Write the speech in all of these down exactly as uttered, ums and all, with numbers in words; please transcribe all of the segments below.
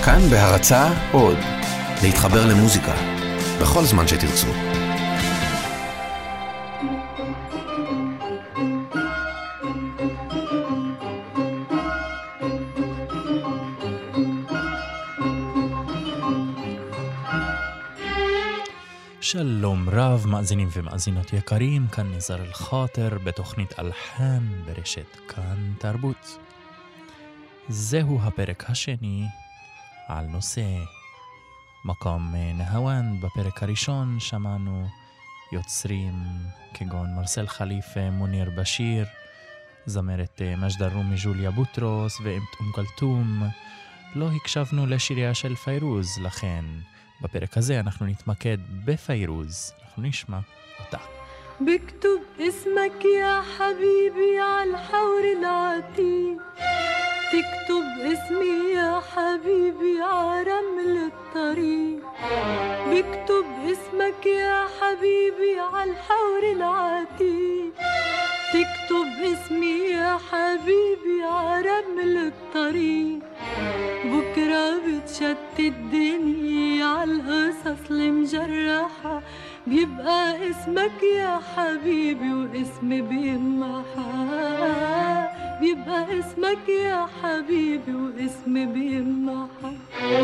כאן בהרצאה עוד, להתחבר למוזיקה, בכל זמן שתרצו. שלום רב, מאזינים ומאזינות יקרים, כאן ניזר אל-חאטר בתוכנית אלחן ברשת כאן תרבות. זהו הפרק השני על נושא מקום נהוון. בפרק הראשון שמענו יוצרים כגון מרסל חליפה, מוניר בשיר, זמרת מג'ד אל-רומי ג'וליה בוטרוס ואום כלתום. לא הקשבנו לשיריה של פיירוז, לכן בפרק הזה אנחנו נתמקד בפיירוז. אנחנו נשמע אותה. بكتب اسمك يا حبيبي على الحور العتيق، تكتب اسمي يا حبيبي على رمل الطريق، بكتب اسمك يا حبيبي على الحور العتيق، تكتب اسمي يا حبيبي على رمل الطريق، بكرة بتشتت الدنيا عالقصص المجرحة، بيبقى اسمك يا حبيبي واسمي بيمحى، بيبقى اسمك يا حبيبي واسمي بيمحى.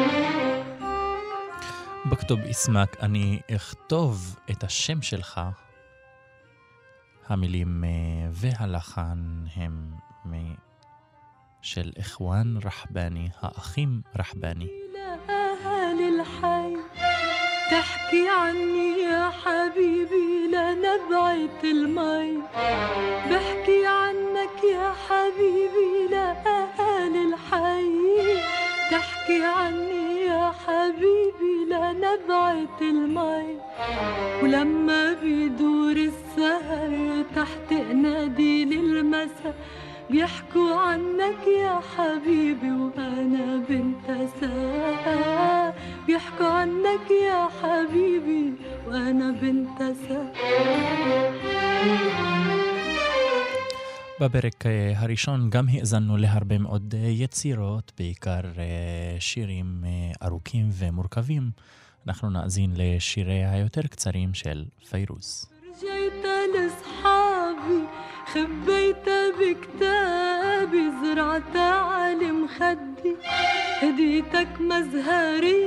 בכתוב اسمك, אני אכתוב את השם שלך. המילים והלחן הם של איחואן רחבני, האחים רחבני. تحكي عني يا حبيبي لنبعة المي، بحكي عنك يا حبيبي لأهل الحي، تحكي عني يا حبيبي لنبعة المي، ولما بيدور السهر تحت قناديل المساء بيحكوا عنك يا حبيبي وأنا بنت ساعة، بيحكوا عنك يا حبيبي وأنا بنت ساعة. בפרק הראשון גם האזנו להרבה מאוד יצירות, בעיקר שירים ארוכים ומורכבים. אנחנו נאזין לשיריה היותר קצרים של פיירוז. رجعت لصحابي خبيتها بكتابي، زرعتها على مخدي، هديتك مزهري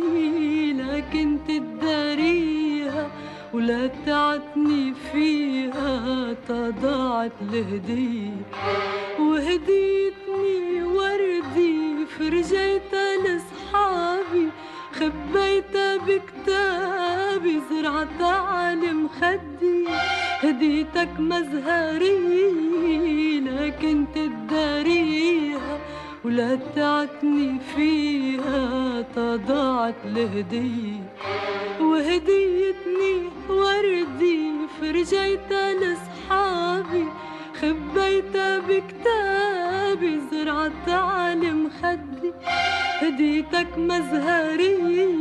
لكن تداريها ولا تعتني فيها، تضاعت الهدية وهديتني وردي، فرجيتها لصحابي خبيتها بكتابي، زرعتها على مخدي، هديتك مزهري لكن تداريها ولا تعتني فيها، تضاعت الهدية وهديتني وردي، فرجيتها لصحابي خبيتها بكتابي، زرعتها على مخدي، هديتك مزهري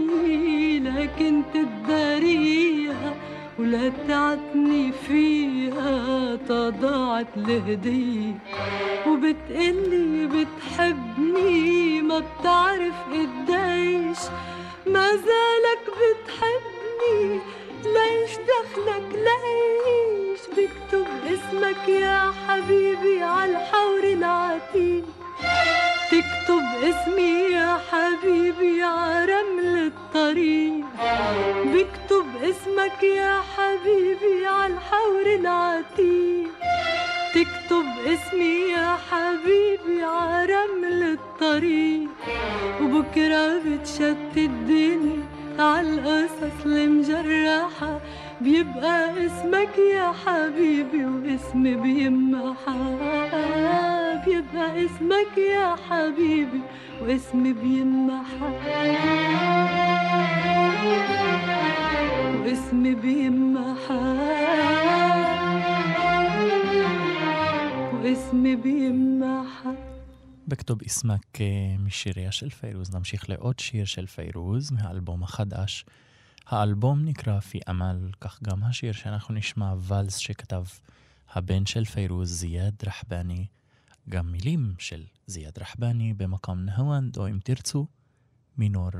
لكن تداريها ولا تعتني فيها، تضاعت الهدية، وبتقلي بتحبني ما بتعرف قديش، ما زالك بتحبني ليش دخلك ليش، بكتب اسمك يا حبيبي على الحور العتيق، تكتب اسمي يا حبيبي على رمل الطريق، بكتب اسمك يا حبيبي على الحور العتيق، تكتب اسمي يا حبيبي على رمل الطريق، وبكرة بتشتت الدنيا عالقصص المجرحة، بيبقى اسمك يا حبيبي واسمي بيمحى، بيبقى اسمك يا حبيبي واسمي بيمحى، واسمي بيمحى، واسمي بيمحى. בכתוב اسمك משיריה של פיירוז. נמשיך לעוד שיר של פיירוז מהאלבום החדש. האלבום נקרא פי אמל, כך גם השיר שאנחנו נשמע, ולס שכתב הבן של פיירוז, זיאד רחבני, גם מילים של זיאד רחבני במקום נהוון, או אם תרצו מינור.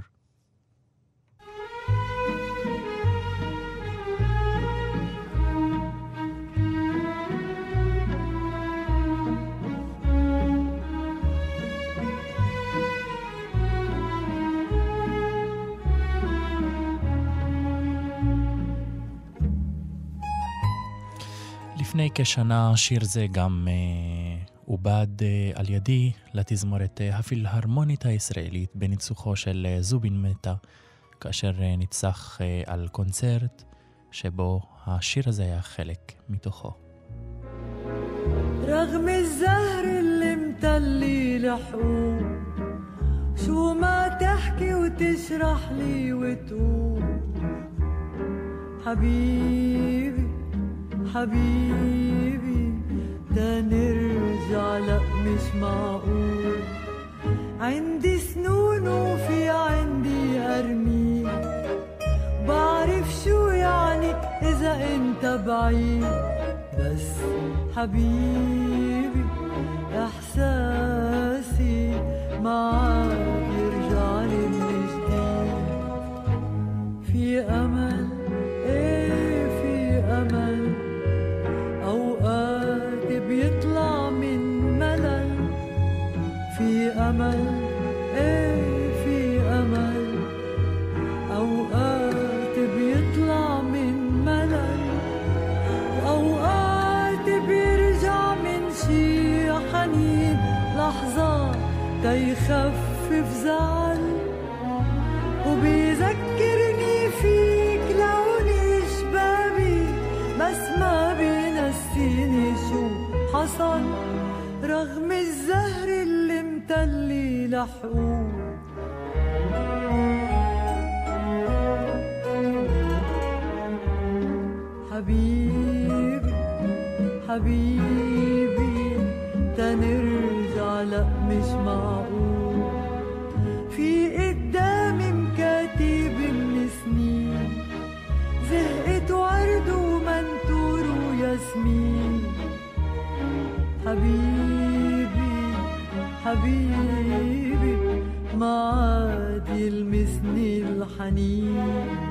לפני כשנה שיר זה גם uh, עובד uh, על ידי לתזמורת uh, הפילהרמונית הישראלית בניצוחו של uh, זובין מטה, כאשר uh, ניצח uh, על קונצרט שבו השיר הזה היה חלק מתוכו. رغم الزهر اللي متلي لحقوق شو ما تحكي وتشرح لي وتقول حبيبي حبيبي دا نرجع لأ مش معقول عندي سنون وفي عندي أرميل بعرف شو يعني إذا انت بعيد بس حبيبي إحساسي معاك يرجع لي من جديد في أمل إيه في أمل أوقات بيطلع من ملل في أمل إيه في أمل أوقات بيطلع من ملل وأوقات بيرجع من شي حنين لحظات تيخفف زعل وبيذكرني فيك لوني شبابي بس ما بينسيني شو حصل رغم الزهر اللي متلي لحقوق حبيبي حبيبي تنرجع لأ مش معقول في قدامي مكاتب من سنين زهقت ورد ومنتور وياسمين حبيبي حبيبي ما عاد يلمسني الحنين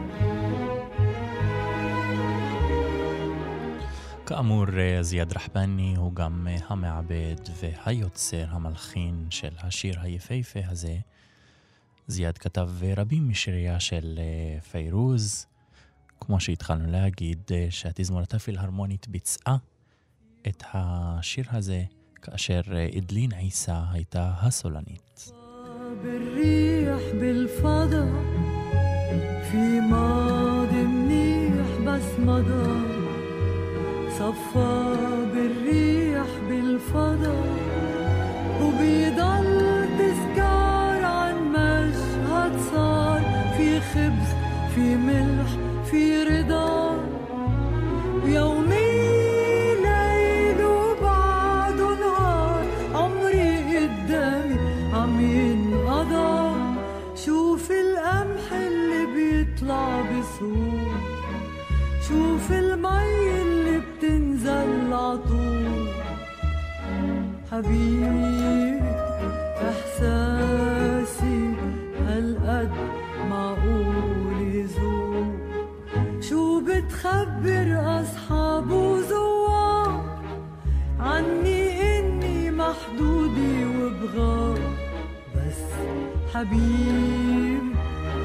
כאמור, זיאד רחבני הוא גם המעבד והיוצר המלחין של השיר היפהפה הזה. זיאד כתב רבים משיריה של פיירוז, כמו שהתחלנו להגיד שהתזמורת הפילהרמונית ביצעה את השיר הזה כאשר אדלין עיסא הייתה הסולנית. بالريح بالفضا في ماضي منيح بس مضى صفى بالريح بالفضا وبيضل تذكار عن مشهد صار في خبز في ملح في رضا ويومي ليل وبعد نهار عمري قدامي عم ينقضى شوف القمح اللي بيطلع بسهول شوف المي اللي بتنزل عطول حبيبي احساسي هالقد معقول يزول شو بتخبر اصحاب وزوار عني اني محدودي وبغار بس حبيبي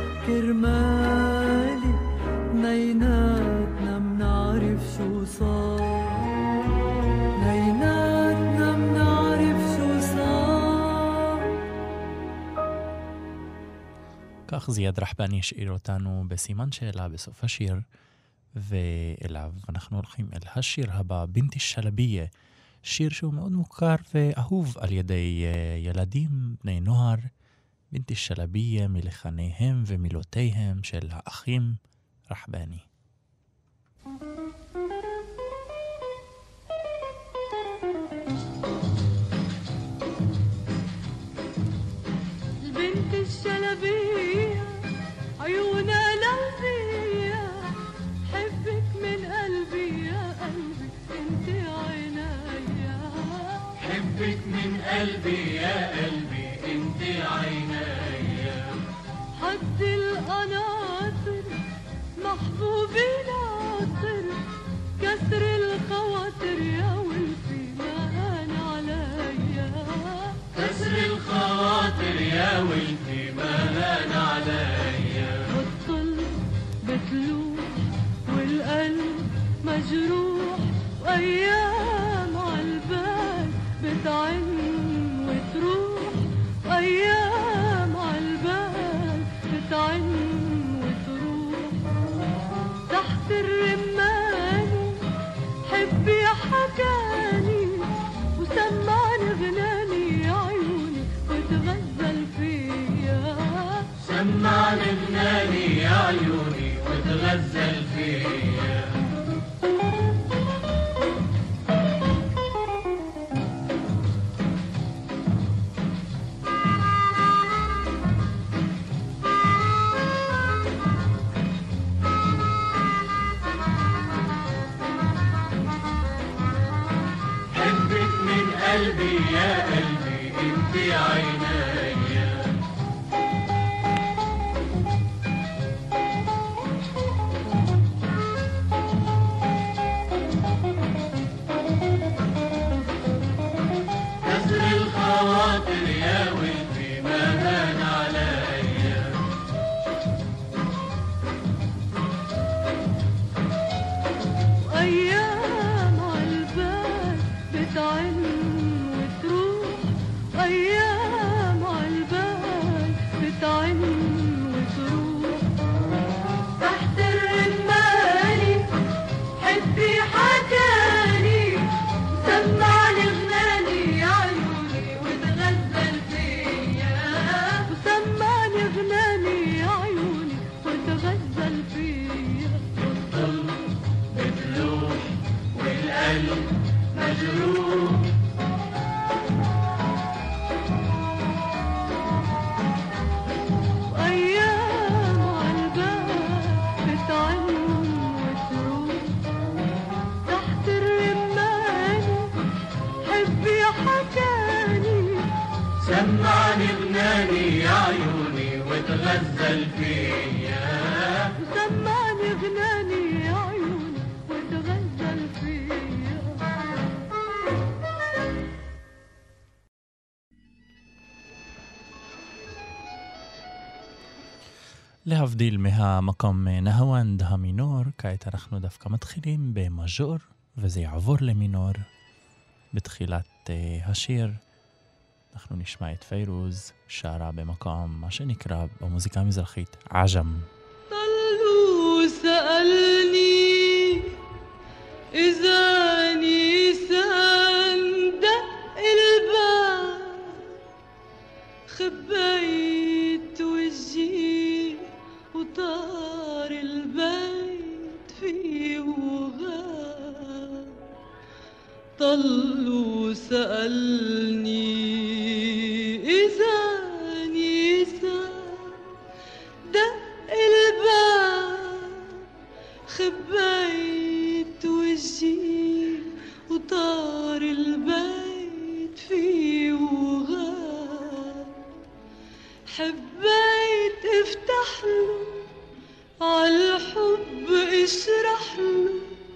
كرمالي نيناتنا منعرف شو صار نيناتنا منعرف شو صار. כך זיאד רחבני השאיר אותנו בסימן שאלה בסוף השיר, ואליו אנחנו הולכים אל השיר הבא, בינתי שלביה, שיר שהוא מאוד מוכר ואהוב על ידי ילדים, בני נוער. בינתי שלביה מלחניהם ומילותיהם של האחים רחבני. البنت الشلبية عيونها لمبية حبك من قلبي يا قلبي انت عينيا حبك من قلبي يا قلبي انت عينيا يا ولدي ما هان عليا. والظل بتلوح والقلب مجروح وأيام عالبال بتعن وتروح وأيام عالبال بتعن وتروح. تحت الرمان حبي حكاني وسمعني غناني عيوني وتغزل فيا. سمعني غناني يا عيوني وتغزل فيا. حبك من قلبي يا قلبي انت عينيا. كسر الخواطر يا ولدي ما هان عليا. وأيام عالبال بتعن وتروح وأيام عالبال بتعن وتروح. تحت الرمال حبي حكاني سمعني غناني يا عيوني وتغزل فيا. وسمعني غناني يا عيوني وتغزل فيا. والظل بتلوح والقلب مجروح. وأيام عالبال بتعن وتروح. تحت الرمان حبي حكاني سمعني غناني يا عيوني وتغزل فيا. وسمعني غناني يا عيوني وتغزل فيا. להבדיל מהמקום נהוונד המינור, כעת אנחנו דווקא מתחילים במז'ור, וזה יעבור למינור. בתחילת uh, השיר אנחנו נשמע את פיירוז שרה במקום מה שנקרא במוזיקה המזרחית עג'ם. طلوا سألني إذا نيسان دق الباب خبيت وجهي وطار البيت فيه وغاب. طلوا سألني إذا نيسان دق الباب خبيت وجهي وطار البيت فيه وغاب. حبيت افتح له عالحب اشرح له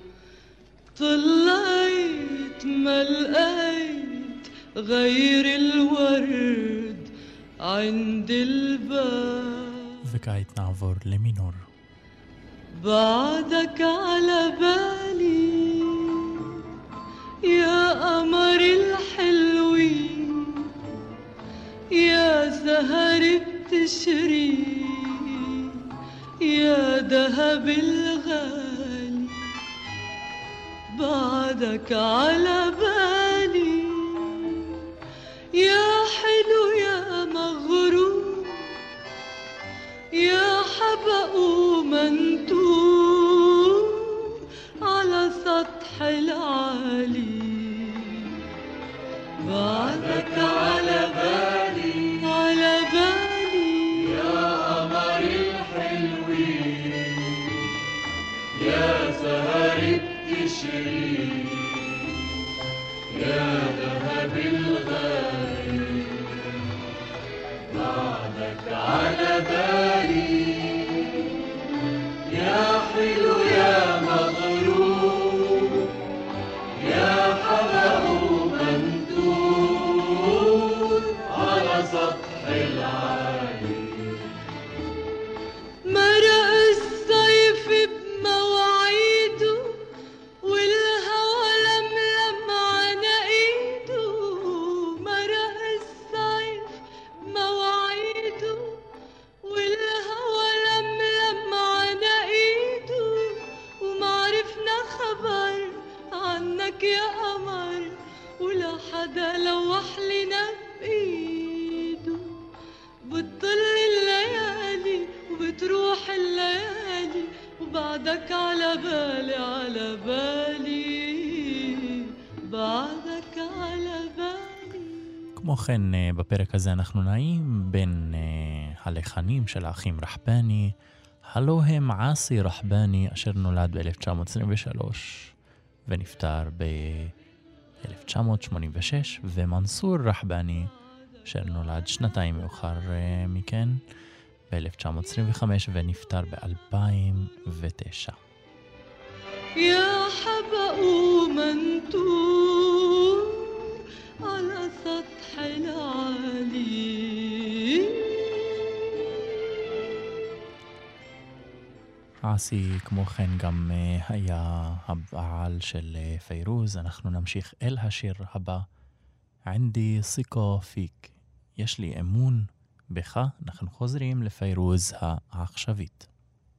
طلعت ما لقيت غير الورد عند الباب. וכעת נעבור למינור. بعدك على بالي يا قمر الحلوين يا سهر بتشري يا دهب الغالي. بعدك على بالي يا حلو يا مغرور يا حبق ومنتور على سطح العالي. بعدك على بالي على بالي يا قمر الحلوين يا سهر بتشري يا ذهب الغالي. بعدك على بالي يا حلو يا مغرور يا حبق منتور على سطح العالي. بعدك على بالي على بالي بعدك على بالي. כמו כן, בפרק הזה אנחנו נעים בין הלחנים של האחים רחבני, הלא הם עסי רחבני, אשר נולד ב-אלף תשע מאות עשרים ושלוש ונפטר ב-אלף תשע מאות שמונים ושש, ומנסור רחבני, אשר נולד שנתיים מאוחר מכן, ב-אלף תשע מאות עשרים וחמש ונפטר ב-אלפיים ותשע. يا حبق منتور على سطح العالي. עסי כמו כן גם היה הבעל של פיירוז. אנחנו נמשיך אל השיר הבא, ענדי סיקו פיק, יש לי אמון בך. אנחנו חוזרים לפיירוז העכשווית.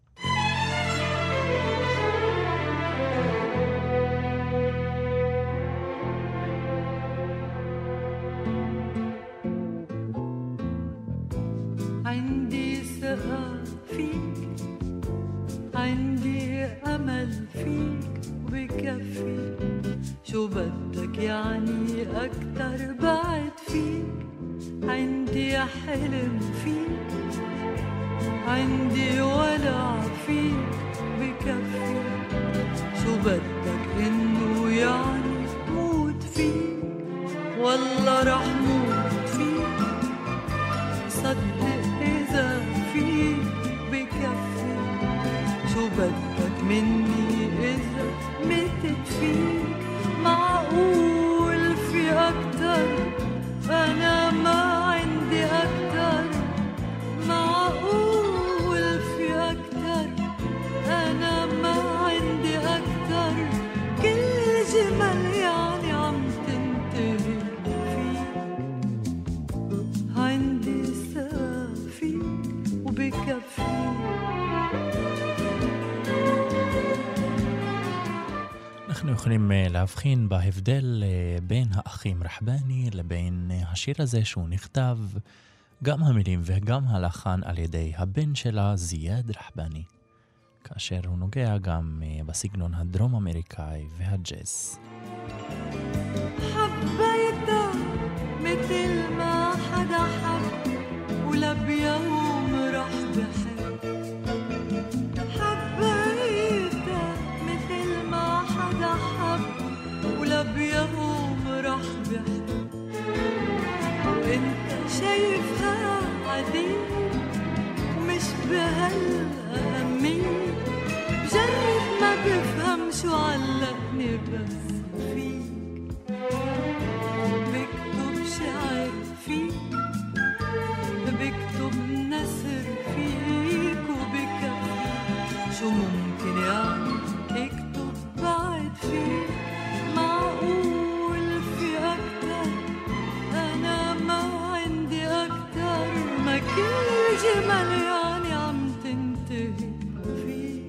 عندي ثقة فيك عندي أمل فيك وبكفي شو بدك يعني أكتر بعد فيك. عندي حلم فيك عندي ولع فيك بكفي شو بدك إنه يعني موت فيك. والله رح موت فيك صدق إذا فيك بكفي شو بدك مني إذا متت فيك. معقول في أكتر أنا ما عندي أكتر. معقول في أكتر أنا ما عندي أكتر. كل جمال يعني عم تنتهي فيك. عندي ثقة فيك وبكفي. אנחנו יכולים להבחין בהבדל בין האחים רחבני לבין השיר הזה שהוא נכתב, גם המילים וגם הלחן, על ידי הבן שלה זיאד רחבני, כאשר הוא נוגע גם בסגנון הדרום אמריקאי והג'אז. حبيتها مثل ما حدا حب ولا بيوم رح بحب. حبيتها مثل ما حدا حب ولا بيوم رح بحب. وانت شايفها عادية ومش بهالأهمية. بجرب ما بفهم شو علقني بس فيك. بكتب شعر فيك بكتب نثر فيك وبكفي شو ممكن يعني اكتب بعد فيك. معقول في أكتر أنا ما عندي أكتر. ما كل جمال يعني عم تنتهي فيك.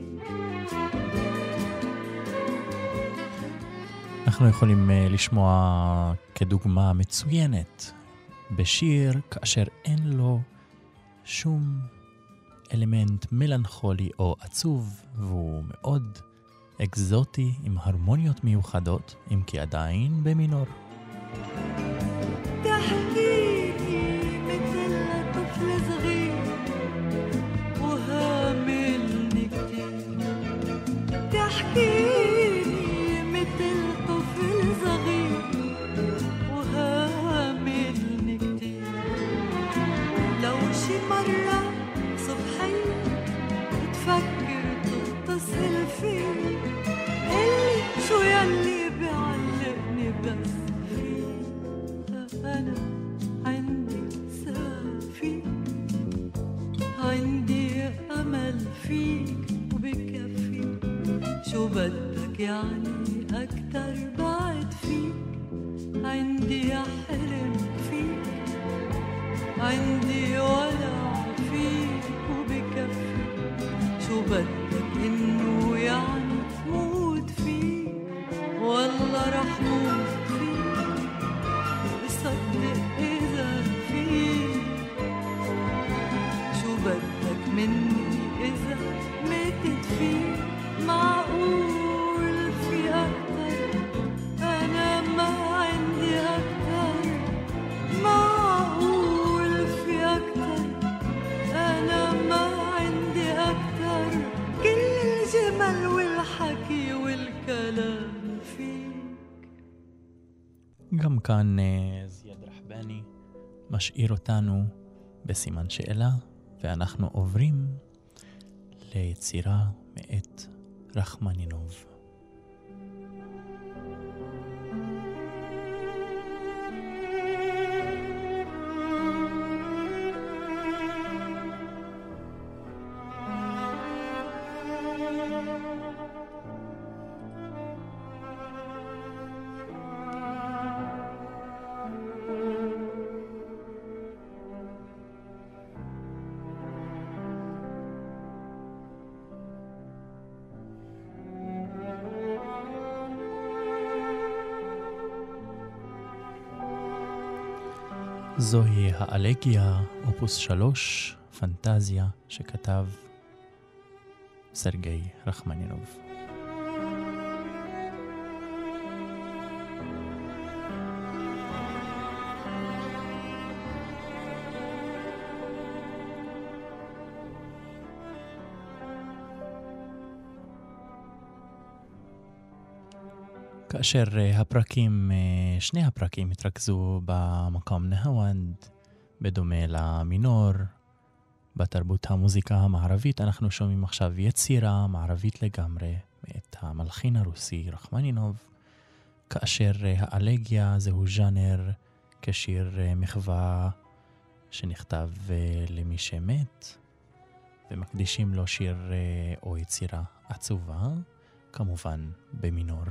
אנחנו יכולים לשמוע כדוגמה מצוינת בשיר כאשר אין לו שום אלמנט מלנכולי או עצוב, והוא מאוד אקזוטי עם הרמוניות מיוחדות, אם כי עדיין במינור. تحكيني مثل طفل صغير وهاملني كتير. تحكيني مثل طفل صغير وهاملني كتير. لو شي مرة صبحية تفكر تتصل فيني قلي شو يلي بيعلقني بس فيك. أنا عندي ثقة فيك عندي أمل فيك وبكفي شو بدك يعني أكتر بعد فيك. عندي حلم فيك عندي ولع فيك وبكفي شو بدك إنه يعني موت فيك. والله رح موت فيك صدق إذا فيك شو بدك مني إذا ماتت فيك. معقول في أكتر أنا ما عندي أكتر معقول في أكتر أنا ما عندي أكتر كل الجمال والحكي والكلام فيك. גם כאן זיאד רחבני משאיר אותנו בסימן שאלה, ואנחנו עוברים ליצירה מאת רחמנינוב. זוהי האלגיה, אופוס שלוש, פנטזיה, שכתב סרגי רחמנינוב. כאשר הפרקים, שני הפרקים התרכזו במקום נהוונד, בדומה למינור, בתרבות המוזיקה המערבית, אנחנו שומעים עכשיו יצירה מערבית לגמרי, מאת המלחין הרוסי רחמנינוב, כאשר האלגיה זהו ז'אנר כשיר מחווה שנכתב למי שמת, ומקדישים לו שיר או יצירה עצובה, כמובן במינור.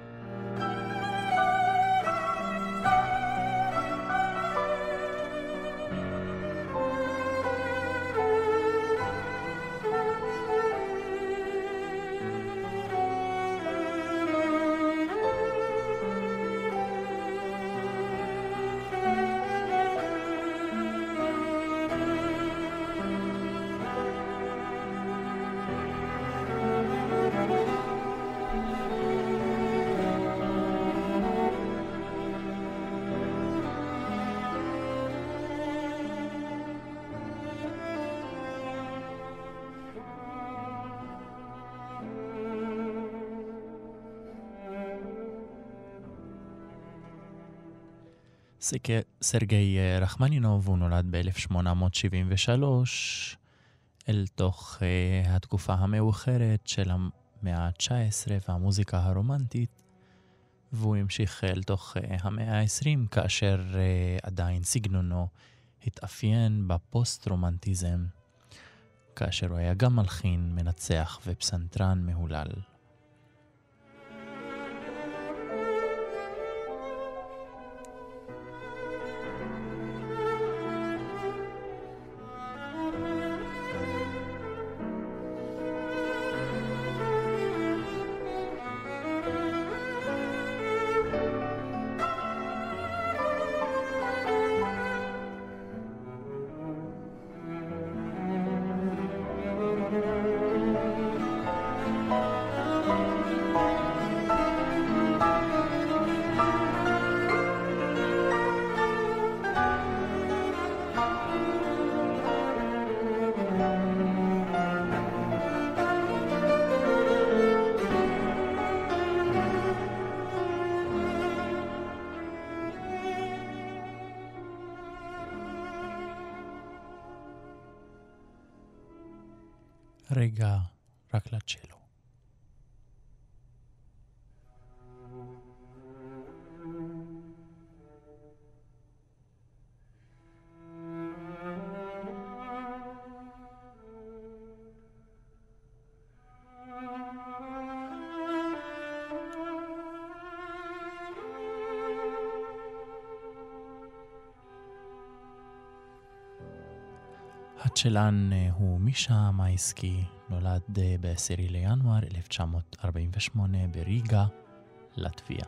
סרגי רחמנינוב הוא נולד ב-אלף שמונה מאות שבעים ושלוש אל תוך uh, התקופה המאוחרת של המאה ה-תשע עשרה והמוזיקה הרומנטית, והוא המשיך אל תוך uh, המאה ה-עשרים כאשר uh, עדיין סגנונו התאפיין בפוסט-רומנטיזם, כאשר הוא היה גם מלחין, מנצח ופסנתרן מהולל. רגע רק לצ'לו. הצ'לן הוא מישה מייסקי, נולד ב-עשירי לינואר אלף תשע מאות ארבעים ושמונה בריגה, לטביה.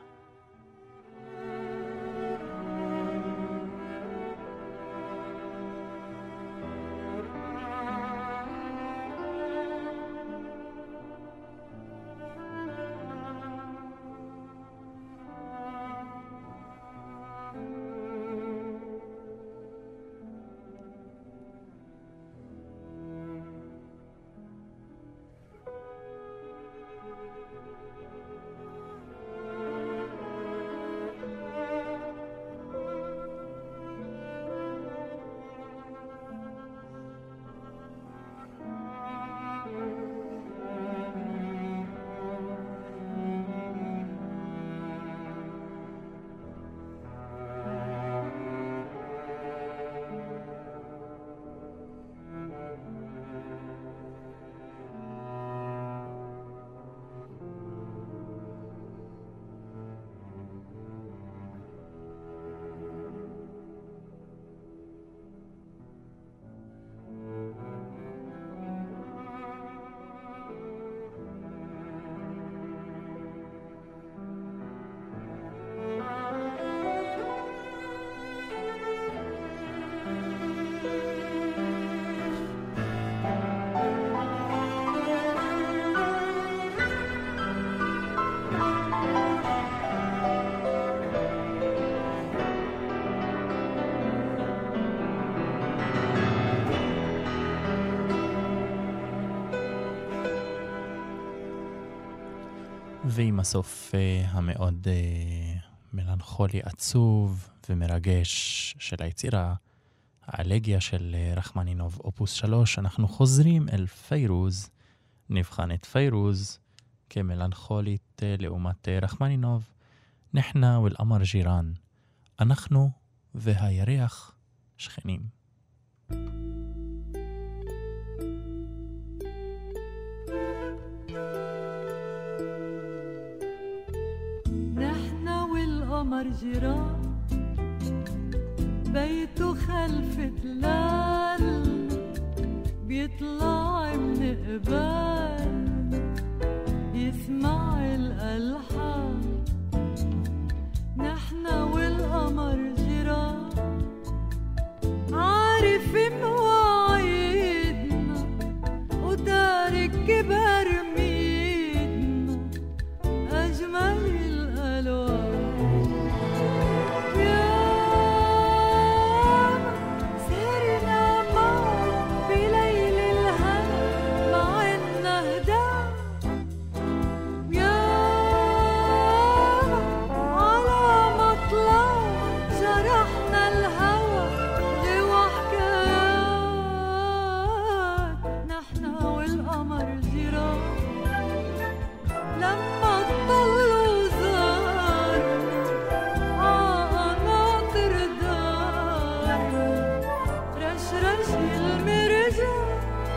ועם הסוף המאוד מלנכולי עצוב ומרגש של היצירה, האלגיה של רחמנינוב אופוס שלוש, אנחנו חוזרים אל פיירוז, נבחן את פיירוז כמלנכולית לעומת רחמנינוב. נחנה ואל-אמר ג'ירן, אנחנו והירח שכנים. نحنا والقمر جيران بيته خلف تلال بيطلع من قبال يسمع الألحان نحنا والقمر جيران عارف مواعيدنا وتارك كبر ميدنا أجمل الألوان يا سهرنا معه بليل الهنا مع النهدى يا على مطلع جرحنا الهوى غوى حكايات نحنا والقمر جيران لما تطلوا زارنا عقناطر دارنا رشرش المرجان.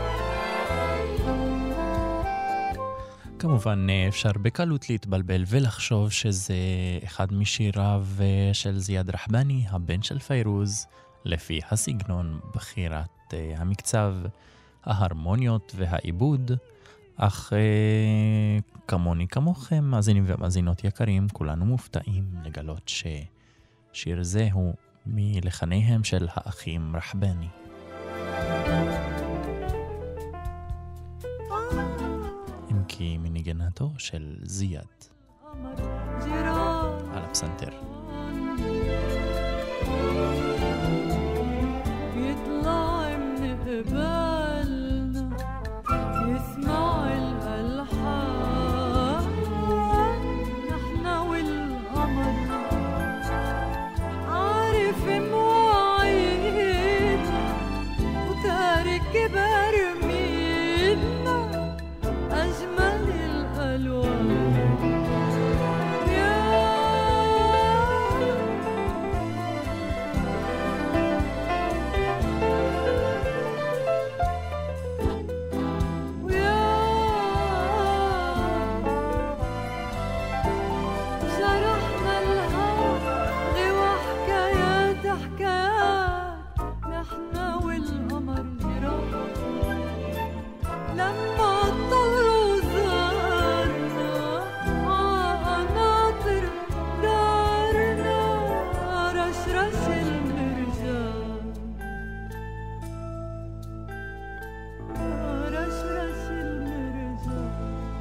כמובן אפשר בקלות להתבלבל ולחשוב שזה אחד משיריו של זיאד רחבני, הבן של פיירוז, לפי הסגנון, בחירת המקצב, ההרמוניות והעיבוד, אך כמוני כמוכם, מאזינים ומאזינות יקרים, כולנו מופתעים לגלות ששיר זה הוא מלחניהם של האחים רחבני. אם כי מניגנתו של זיאד על הפסנתר. يطلع من قبالنا يسمع الألحان نحنا والقمر عارف مواعيدنا وتارك كبر ميدنا أجمل الألوان يا ويا جرحنا الهوى غوى حكايات حكايات نحنا والقمر جيران لما طلوا زارنا عقناطر دارنا رشرش المرجان رشرش المرجان.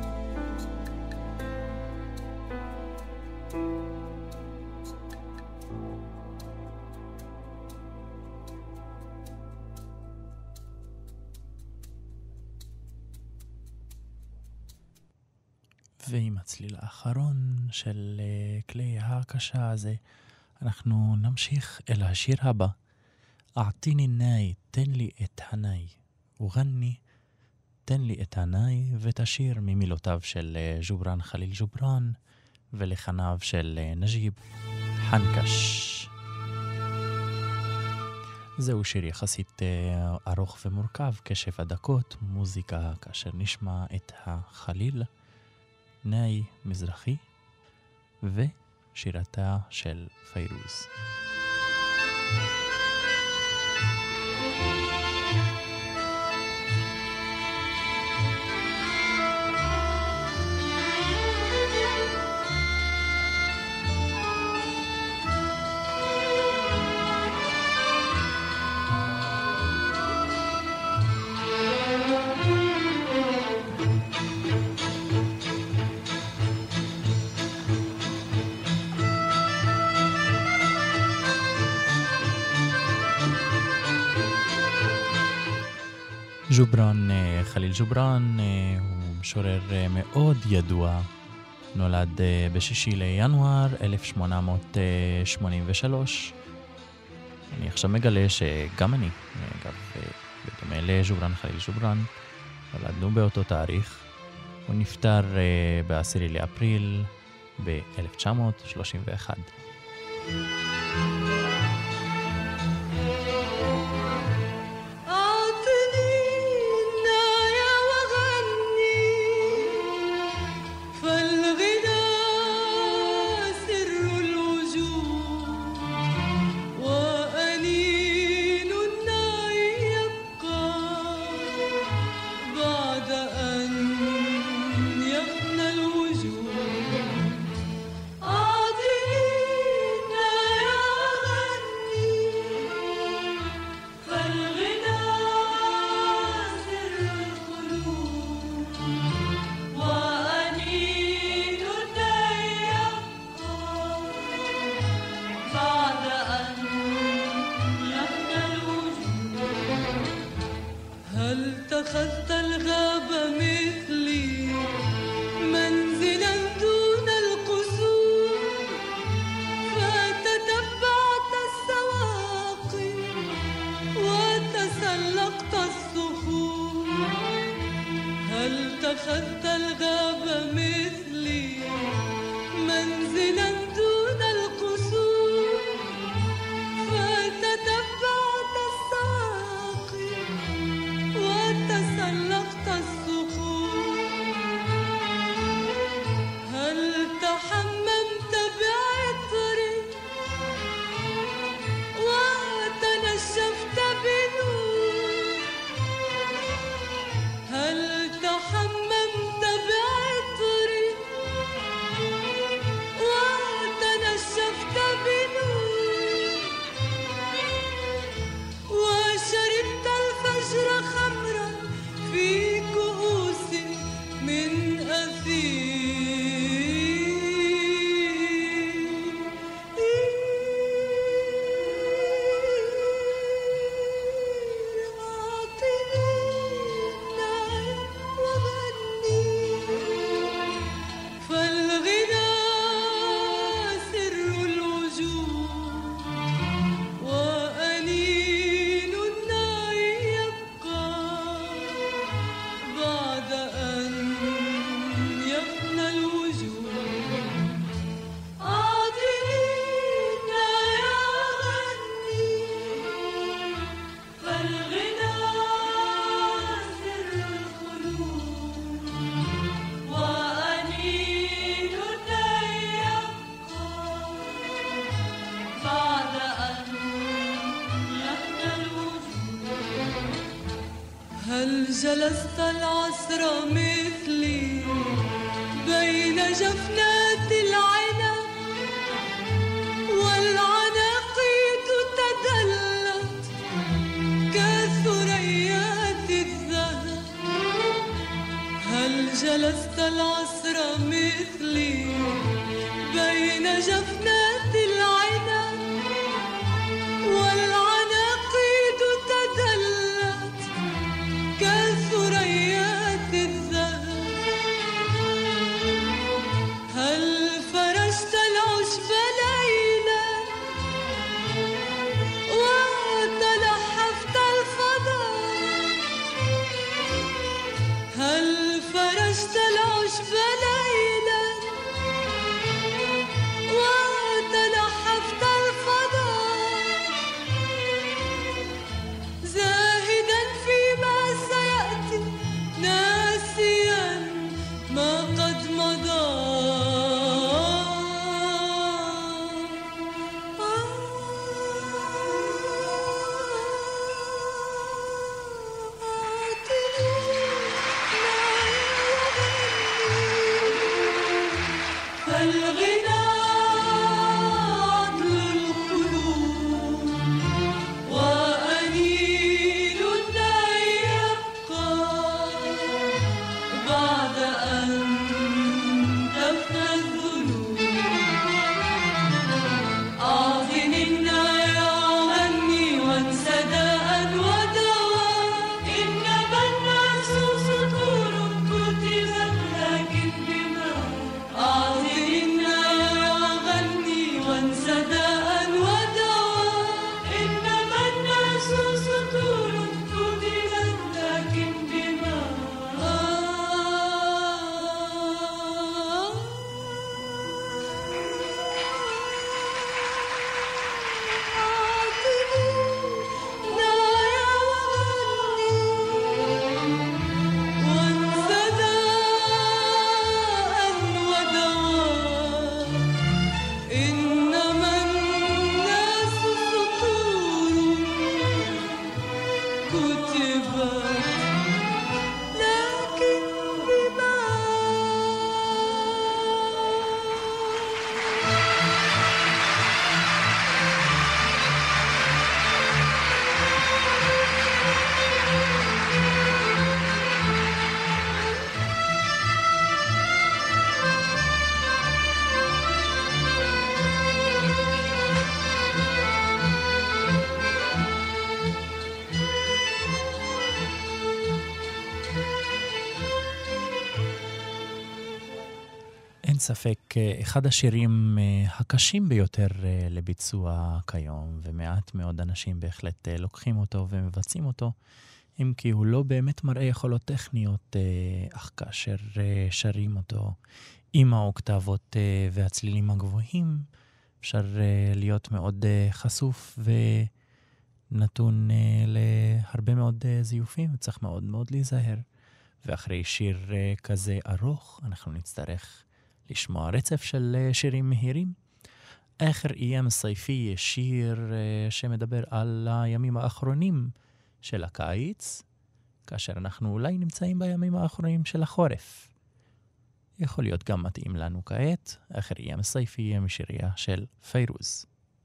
ועם הצליל האחרון של uh, כלי הקשה הזה, אנחנו נמשיך אל השיר הבא. אעתיני נאי, תן לי את הנאי. וגני, תן לי את הנאי, ותשיר ממילותיו של uh, ג'ובראן חליל ג'ובראן, ולחניו של uh, נג'יב חנקש. זהו שיר יחסית uh, ארוך ומורכב, כשבע דקות, מוזיקה כאשר נשמע את החליל. נאי מזרחי ושירתה של פיירוז. ג'ובראן, חליל ג'ובראן, הוא משורר מאוד ידוע נולד בשישי לינואר אלף שמונה מאות שמונים ושלוש. אני עכשיו מגלה שגם אני, אגב, בדומה לג'ובראן חליל ג'ובראן, נולדנו באותו תאריך. הוא נפטר בעשירי לאפריל ב-אלף תשע מאות שלושים ואחת. جلست العصر مثلي بين جفنات العنب والعناقيد تدلت كثريات الذهب. هل جلست العصر مثلي بين جفنات العنب والعناقيد تدلت كثريات الذهب. هل فرشت العشب ليلا وتلحفت الفضاء؟ هل فرشت العشب ليلا وتلحفت الفضاء؟ ספק אחד השירים הקשים ביותר לביצוע כיום, ומעט מאוד אנשים בהחלט לוקחים אותו ומבצעים אותו, אם כי הוא לא באמת מראה יכולות טכניות, אך כאשר שרים אותו עם האוקטבות והצלילים הגבוהים, אפשר להיות מאוד חשוף ונתון להרבה מאוד זיופים, וצריך מאוד מאוד להיזהר. ואחרי שיר כזה ארוך, אנחנו נצטרך לשמוע רצף של שירים מהירים. אחר איים הסייפי, שיר שמדבר על הימים האחרונים של הקיץ, כאשר אנחנו אולי נמצאים בימים האחרונים של החורף. יכול להיות גם מתאים לנו כעת. אחר איים הסייפי משיריה של פיירוז.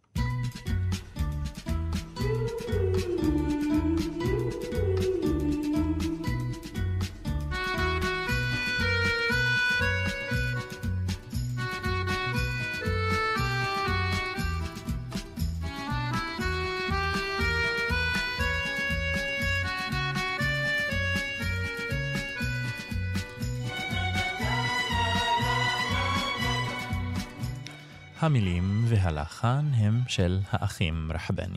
המילים והלחן הם של האחים רחבני.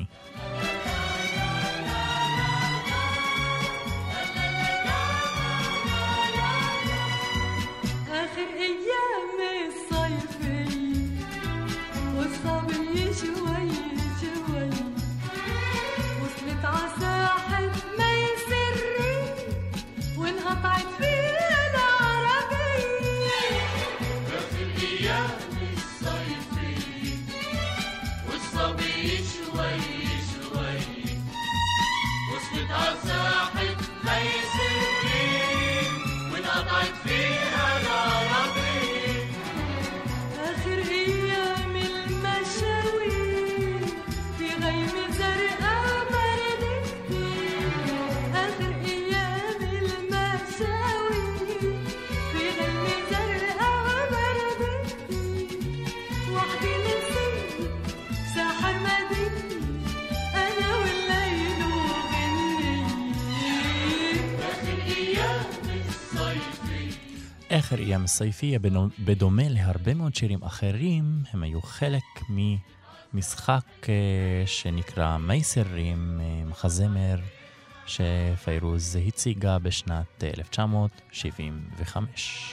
אחר איים הסייפי, בדומה להרבה מאוד שירים אחרים, הם היו חלק ממשחק שנקרא מייסרים, מחזמר שפיירוז הציגה בשנת אלף תשע מאות שבעים וחמש.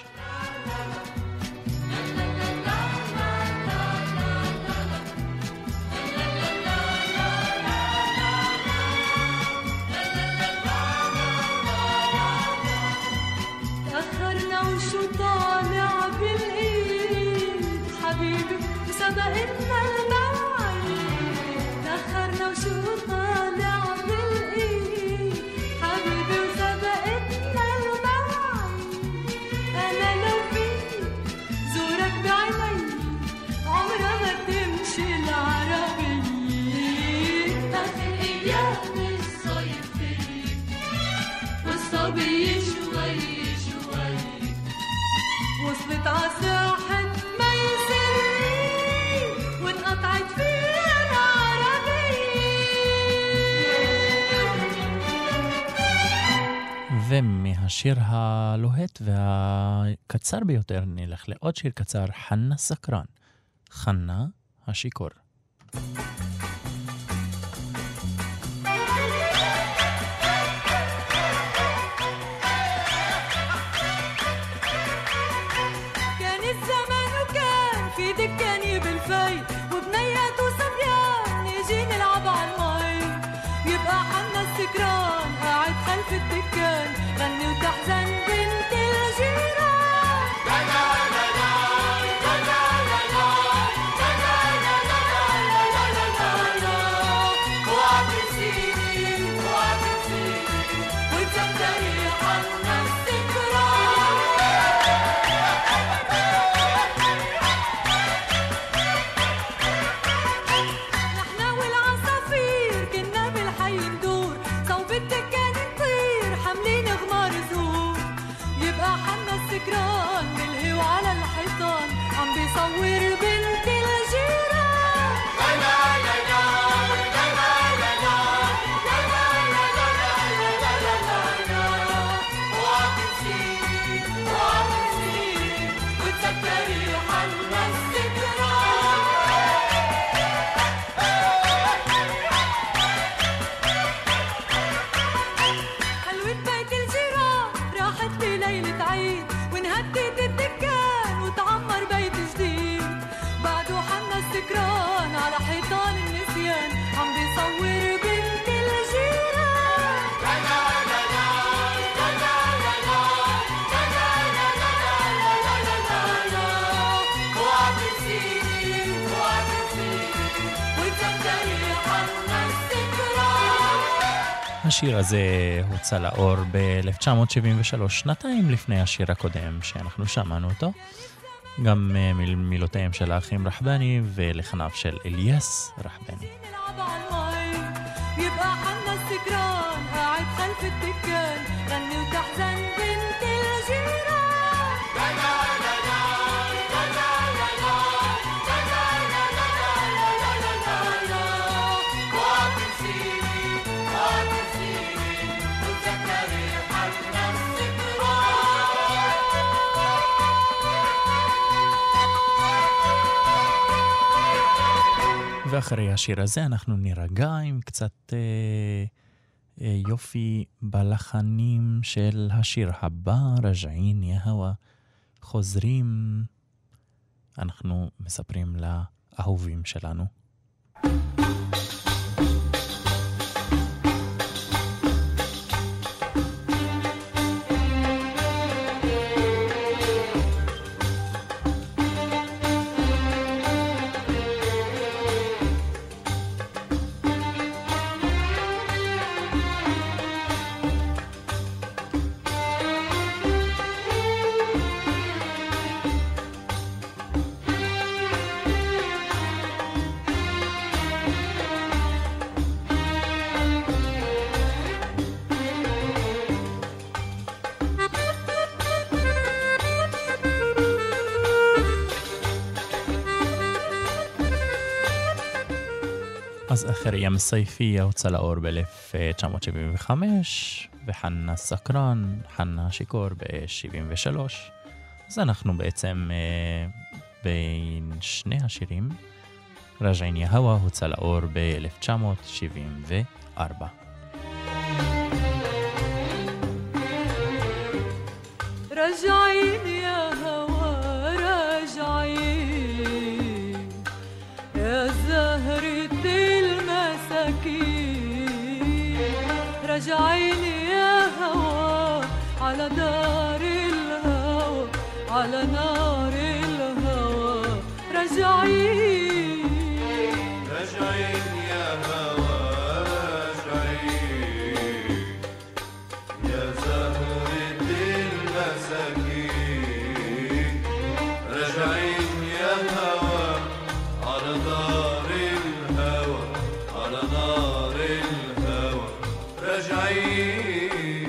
ומהשיר הלוהט והקצר ביותר נלך לעוד שיר קצר, חנה סקרן, חנה השיקור. كان الزمان وكان في دكاني بالفي وبنيات وصبيان نيجي نلعب عالمي يبقى حنا السكران قاعد خلف الدكان غني وتحزن بنت الجيران لا لا لا لا لا لا لا لا لا لا لا لا وعم تسيني وعم تسيني وتقدري حنا السكران نحنا والعصافير كنا بالحي ندور صوب الدكان نطير حاملين غمار زهور يبقى حنا السكران بالهوا على الحيطان عم بيصور بنت الجيران لا لا لا لا لا لا لا لا لا لا لا لا لا وعم تسيني وعم تسيني وتسكري השיר הזה הוצא לאור ב-אלף תשע מאות שבעים ושלוש, שנתיים לפני השיר הקודם שאנחנו שמענו אותו. גם מיל, מילותיהם של האחים רחבני ולחניו של אליאס רחבני. يبقى حنا السكران قاعد خلف الدكان غني وتحزن بنت الجيران لا لا لا لا لا لا لا لا لا لا لا لا واتنسيني واتنسيني وتذكري حنا ואחרי השיר הזה אנחנו נירגע עם קצת אה, אה, יופי בלחנים של השיר הבא, רג'עין יא הווה. חוזרים, אנחנו מספרים לאהובים שלנו. אז אחרי ים סייפי הוצא לאור ב-אלף תשע מאות שבעים וחמש, וחנה סקרן, חנה שיקור ב-שבעים ושלוש. אז אנחנו בעצם אה, בין שני השירים. רג'עין יא הווה הוצא לאור ב-אלף תשע מאות שבעים וארבע. رجعين يا هوا رجعين يا زهرة المساكين رجعين يا هوا على دار الهوى على نار الهوى رجعين رجعين يا هوا رجعين يا زهرة المساكين رجعين يا هوا على نار الهوى على نار الهوى رجعين.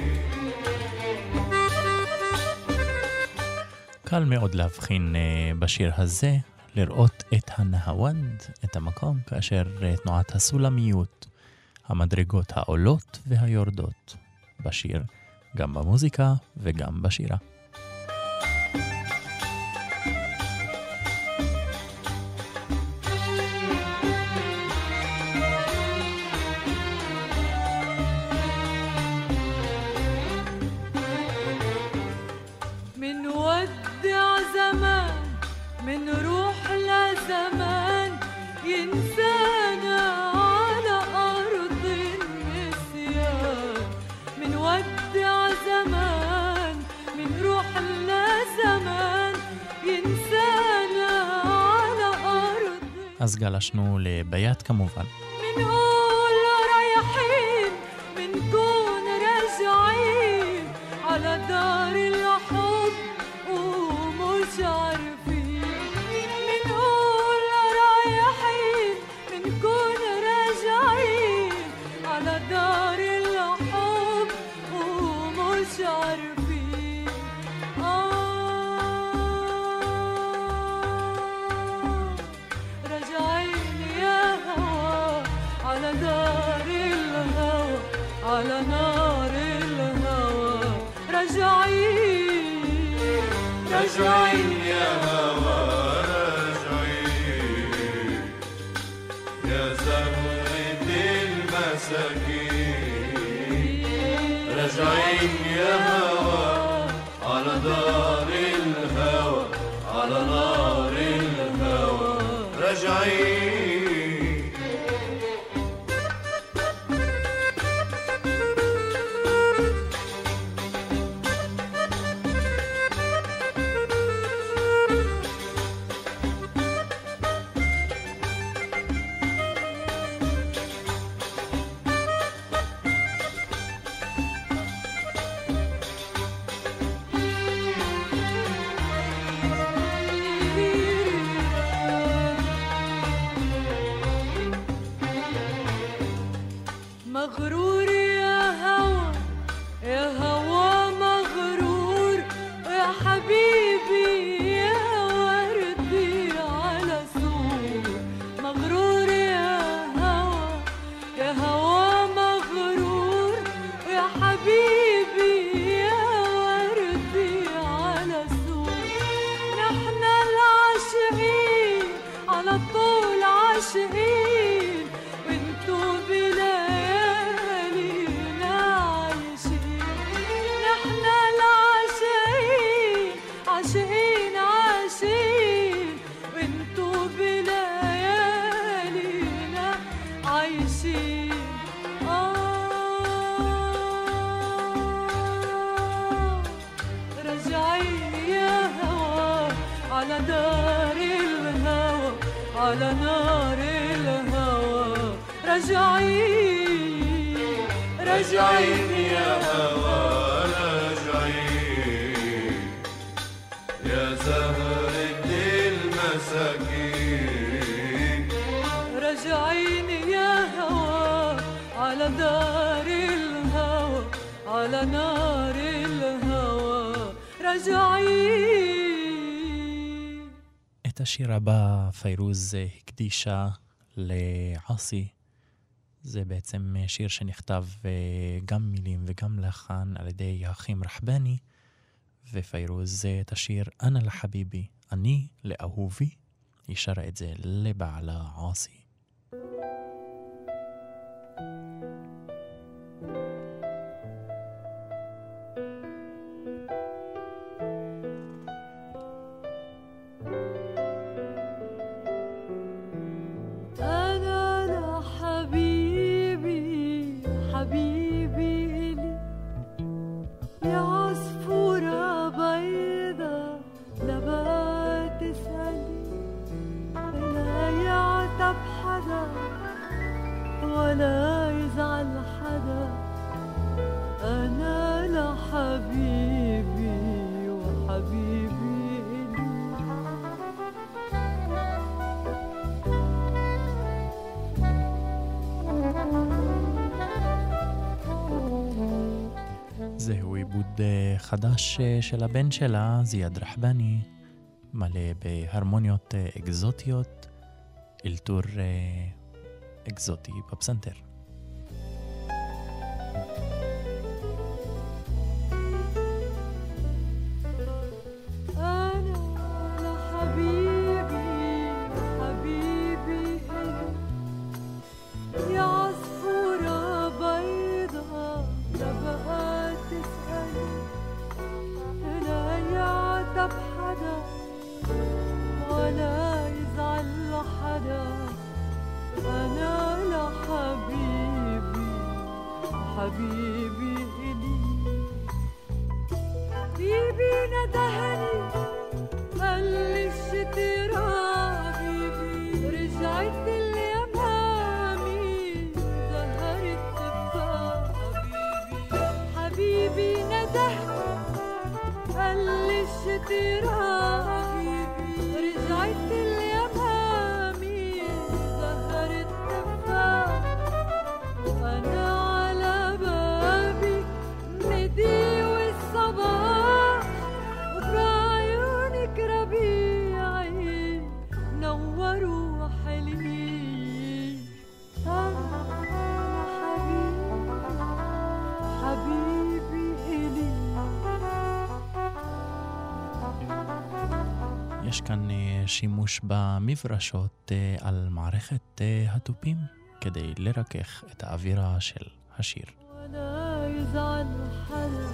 קל מאוד להבחין בשיר הזה, לראות את הנהוונד, את המקום, כאשר תנועת הסולמיות, המדרגות העולות והיורדות בשיר, גם במוזיקה וגם בשירה. من ودع زمان من روح لزمان ينسانا على أرض النسيان من ودع زمان من روح لزمان ينسانا على أرض. אז גלשנו לביית כמובן. منقول رايحين منكون راجعين على دار الحب ومش عارفين منقول رايحين منكون راجعين على دار الحب ومش عارفين آه راجعين يا هوا على دار الهوى على نار الهوى راجعين رجعين يا هوا رجعين يا زهرة المساكين رجعين يا هوا على دار الهوى على نار الهوى رجعين. على دار الهوى على نار الهوى رجعين رجعين يا هوى رجعين يا زهرة المساكين رجعين يا هوى على دار الهوى على نار الهوى رجعين. את השיר הבא פיירוז הקדישה לעאסי. זה בעצם שיר שנכתב גם מילים וגם לחן על ידי האחים רחבני, ופיירוז את השיר אנה לחביבי, אני לאהובי, היא שרה את זה לבעלה עאסי. ولا يزعل حدا أنا لحبيبي وحبيبي إلي. זהו עיבוד חדש של הבן שלה, זיאד רחבני, מלא בהרמוניות אקזוטיות, אלתור אקזוטי בפסנתר. حبيبي إلي بيبي ندهني قال لي الشترا بيبي رجعت اليمامي ظهرت تفاح بيبي حبيبي ندهني قال لي الشترا بيبي رجعت اليمامي ظهرت تفاح وأنا יש כאן שימוש במברשות על מערכת התופים כדי לרכך את האווירה של השיר. ولا يزعل حدا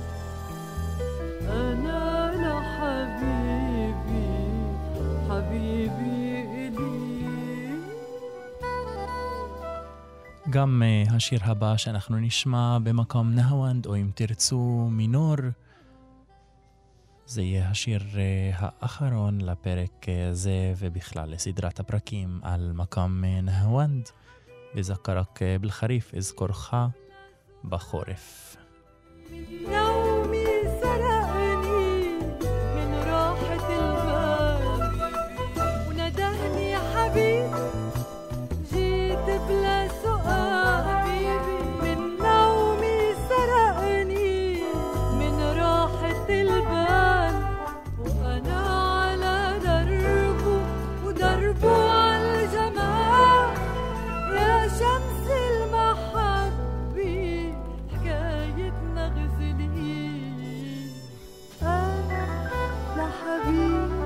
أنا لحبيبي حبيبي إلي. גם השיר הבא שאנחנו נשמע במקום נהוונד, או אם תרצו מינור, זה יהיה השיר האחרון לפרק זה ובכלל לסדרת הפרקים על מקום נהוונד, בזכרק בלחריף אזכורך בחורף. نومي سرقني من راحة البال وندهني يا حبيبي جيت بلا سؤال حبيبي من نومي سرقني من راحة البال وأنا على دربه ودربه على الجمال يا شمس المحبة حكايتنا غزلي أنا لحبيبي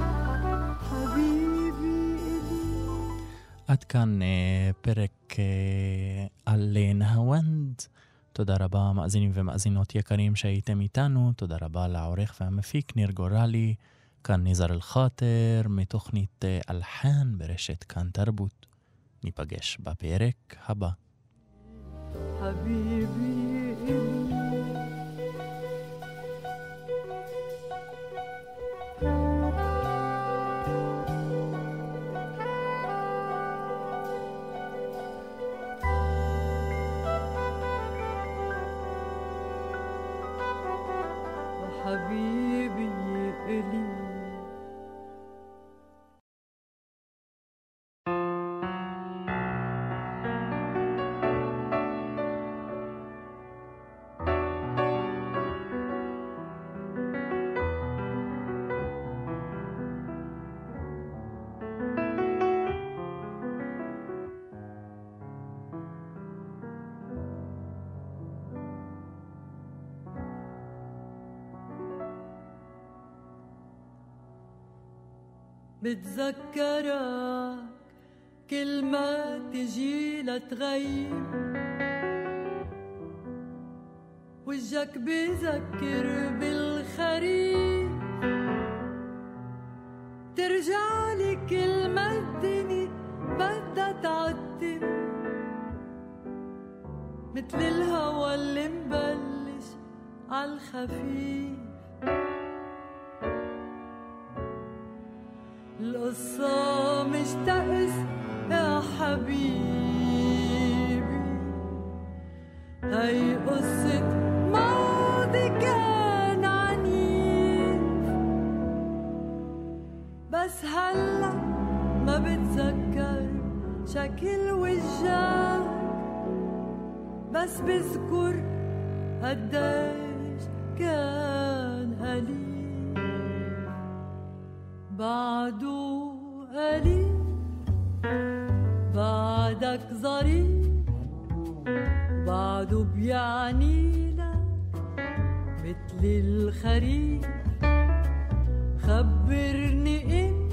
حبيبي إلي. עד כאן פרק על נהוונד. תודה רבה מאזינים ומאזינות יקרים שהייתם איתנו. תודה רבה לעורך והמפיק ניר גורלי. כאן ניזר אל-חאטר מתוכנית אלחן ברשת כאן תרבות. ניפגש בפרק הבא. حبيبي إلي. حبيبي إلي. بتذكرك كل ما تجي لتغيب، وجهك بذكر بالخريف، ترجعلي كل ما الدنيا بدها تعتم، متل الهوى اللي مبلش عالخفيف. القصة مش تأس يا حبيبي، هاي قصة ماضي كان عنيف، بس هلأ ما بتذكر شكل وجهك، بس بذكر قديش كان قليل. بعده قليل بعدك ظريف، بعده بيعني لك مثل الخريف. خبرني إن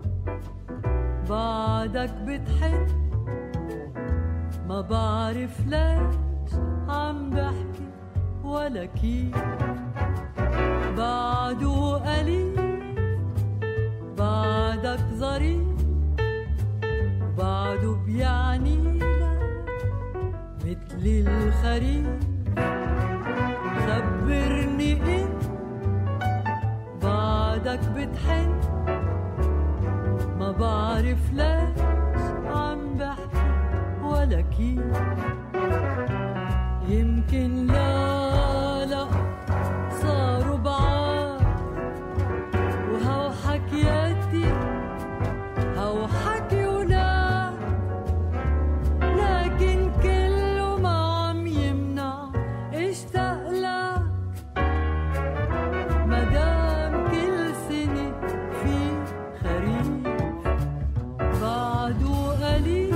بعدك بتحن، ما بعرف ليش عم بحكي ولا كيف. بعده قليل بعدك ظريف، بعده بيعني لك مثل الخريف. خبرني إن بعدك بتحن، ما بعرف ليش عم بحكي ولا كيف. يمكن لا لا صاروا بعاد، وهو حكياتي هو حكي ولاد، لكن كله ما عم يمنع اشتاق لك. مدام كل سنة في خريف، بعده قليل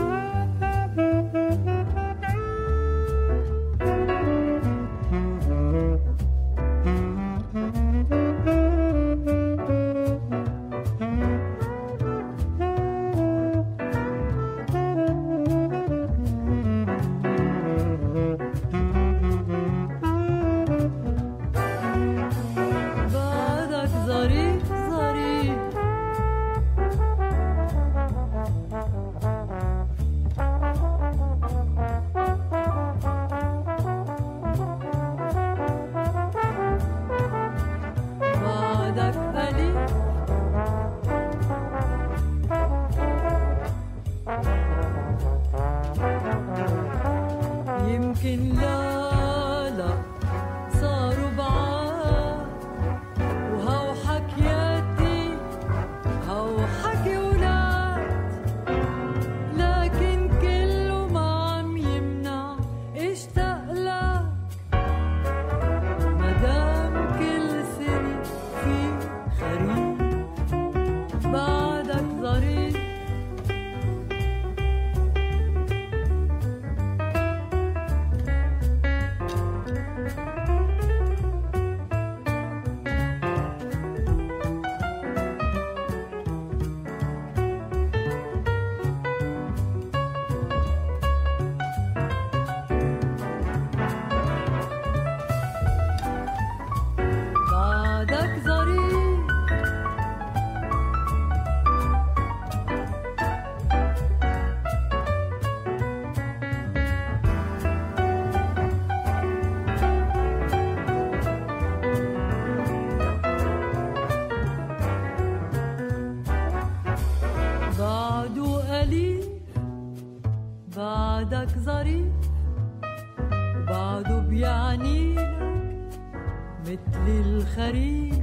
الخريف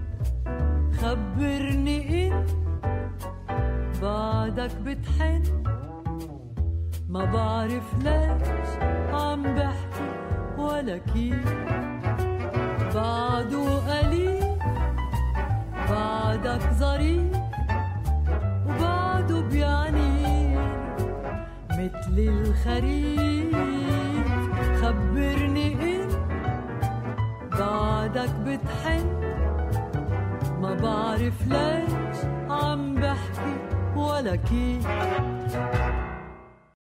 خبرني إن بعدك بتحن ما بعرف ليش عم بحكي ولا كيف بعده قليل بعدك ظريف وبعده بيعني مثل الخريف خبرني إن بعدك بتحن ما بعرف ليش عم بحكي ولا كيف